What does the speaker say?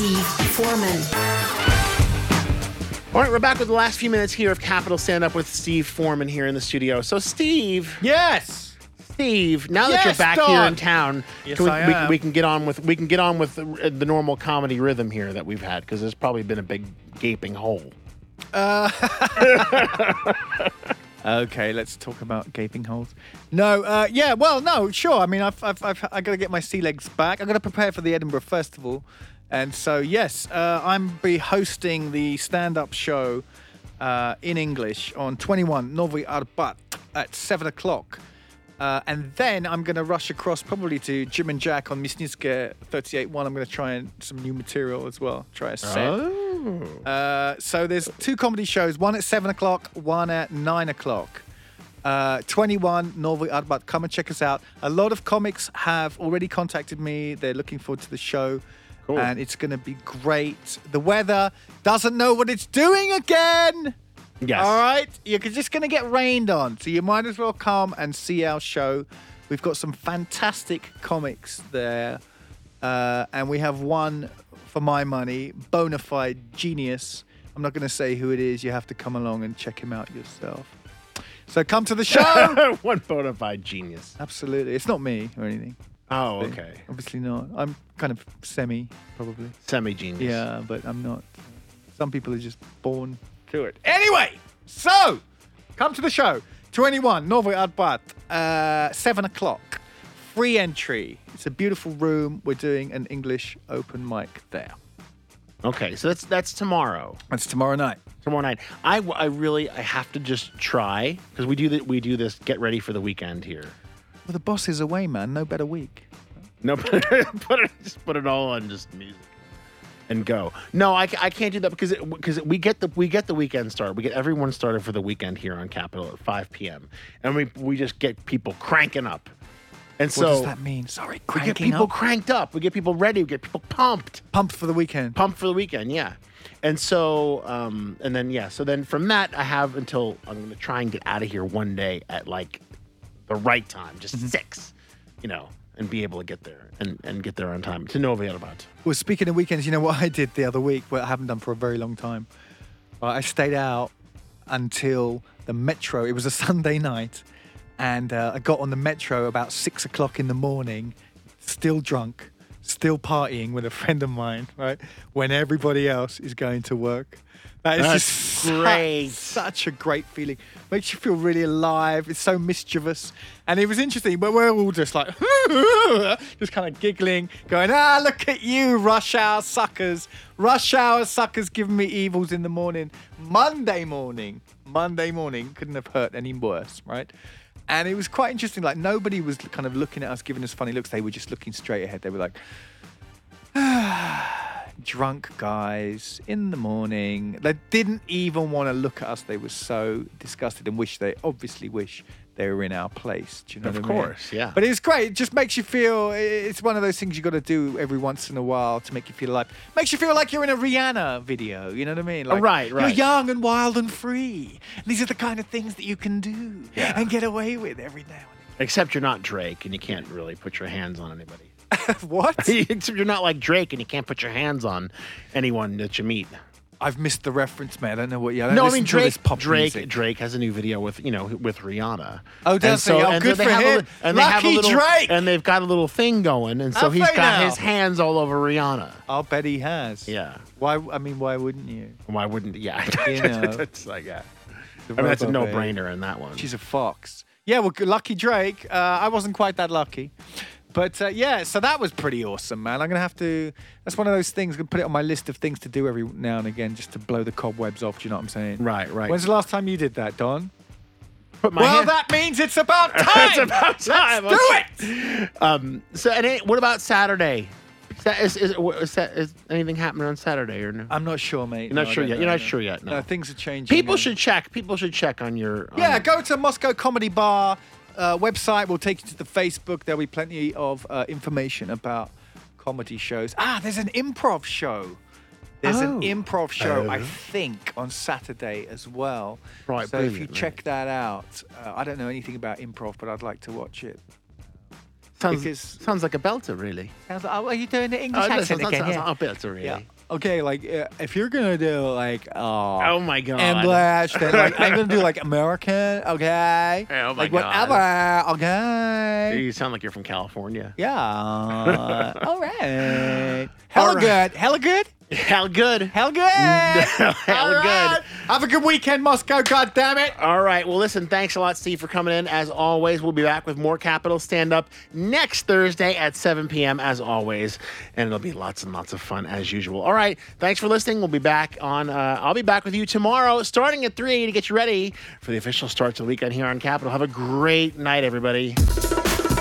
Steve Foreman. All right, we're back with the last few minutes here of Capital Stand Up with Steve Foreman here in the studio. So, Steve. Yes. Steve, now that you're back Don. here in town, Yes, we can get on with the normal comedy rhythm here that we've had, because there's probably been a big gaping hole. Okay, let's talk about gaping holes. No, no, sure. I mean, I've got to get my sea legs back. I've got to prepare for the Edinburgh Festival, and so yes, I'm be hosting the stand-up show in English on 21 Nowy Arbat at 7:00. And then I'm going to rush across probably to Jim and Jack on Mysnicka 38.1. I'm going to try some new material as well. Try a set. Oh. So there's two comedy shows, one at 7:00, one at 9:00. 21 Nowy Arbat. Come and check us out. A lot of comics have already contacted me. They're looking forward to the show. Cool. And it's going to be great. The weather doesn't know what it's doing again. Yes. All right? You're just going to get rained on. So you might as well come and see our show. We've got some fantastic comics there. And we have one, for my money, bona fide genius. I'm not going to say who it is. You have to come along and check him out yourself. So come to the show. One bona fide genius. Absolutely. It's not me or anything. Oh, okay. Obviously not. I'm kind of probably. Semi-genius. Yeah, but I'm not. Some people are just born to it. Anyway, so come to the show. 21 Nowy Arbat, 7:00. Free entry. It's a beautiful room. We're doing an English open mic there. Okay, so that's tomorrow. That's tomorrow night. Tomorrow night. I have to just try, because we do this get ready for the weekend here. Well, the boss is away, man. No better week. No, just put it all on just music and go. No, I can't do that because we get the weekend started. We get everyone started for the weekend here on Capital at 5 p.m. and we just get people cranking up. And What does that mean? Sorry, we get cranking people up? cranked up. We get people ready. We get people pumped. Pumped for the weekend. Pumped for the weekend, yeah. And so, so then from that, I have until I'm going to try and get out of here one day at like the right time, just 6, and be able to get there and get there on time to Nowy Arbat. Well, speaking of weekends, you know what I did the other week, what I haven't done for a very long time? I stayed out until the metro. It was a Sunday night, and I got on the metro about 6:00 in the morning, still drunk, still partying with a friend of mine, right? When everybody else is going to work. That is That's just great. Such a great feeling. Makes you feel really alive. It's so mischievous. And it was interesting, but we're all just like, just kind of giggling, going, look at you, rush hour suckers. Rush hour suckers giving me evils in the morning. Monday morning, couldn't have hurt any worse, right? And it was quite interesting. Like, nobody was kind of looking at us, giving us funny looks. They were just looking straight ahead. They were like, drunk guys in the morning. They didn't even want to look at us. They were so disgusted and obviously wish they were in our place. Do you know what I mean? Of course, yeah. But it was great. It just makes you feel, it's one of those things you got to do every once in a while to make you feel alive. Makes you feel like you're in a Rihanna video. You know what I mean? Like, Right. You're young and wild and free. These are the kind of things that you can do and get away with every now and then. Except you're not Drake and you can't really put your hands on anybody. What? Except you're not like Drake and you can't put your hands on anyone that you meet. I've missed the reference, man. I don't know what you. No, I mean Drake. Drake has a new video with Rihanna. Oh, does he? Oh, good for him. Lucky Drake. And they've got a little thing going, and so he's got his hands all over Rihanna. I'll bet he has. Yeah. Why? I mean, why wouldn't you? Why wouldn't? Yeah. You know. It's like, yeah. I mean, that's a no-brainer in that one. She's a fox. Yeah. Well, lucky Drake. I wasn't quite that lucky. But so that was pretty awesome, man. I'm going to have to, that's one of those things, I'm going to put it on my list of things to do every now and again just to blow the cobwebs off, do you know what I'm saying? Right. When's the last time you did that, Don? Well, that means it's about time. It's about time. Let's do it. What about Saturday? Is anything happening on Saturday or no? I'm not sure, mate. You're not sure yet. You're not sure yet. No, things are changing. People should check. People should check on your. Go to Moscow Comedy Bar website. We'll take you to the Facebook. There'll be plenty of information about comedy shows. There's an improv show. I think, on Saturday as well. Right, so if you check that out, I don't know anything about improv, but I'd like to watch it. Sounds like a belter, really. Sounds like, are you doing the English accent again? Sounds like a belter, really. Yeah. Okay, like if you're gonna do like Oh my god. English, then like I'm gonna do like American, okay? Oh my like God. whatever, okay? You sound like you're from California. Yeah. All right. All Hella right. good. Hella good. Hell good. Hell good. Hell All right. good. Have a good weekend, Moscow. God damn it. All right. Well, listen, thanks a lot, Steve, for coming in. As always, we'll be back with more Capital Stand Up next Thursday at 7 p.m., as always. And it'll be lots and lots of fun, as usual. All right. Thanks for listening. We'll be back on, I'll be back with you tomorrow, starting at 3 to get you ready for the official start to the weekend here on Capital. Have a great night, everybody.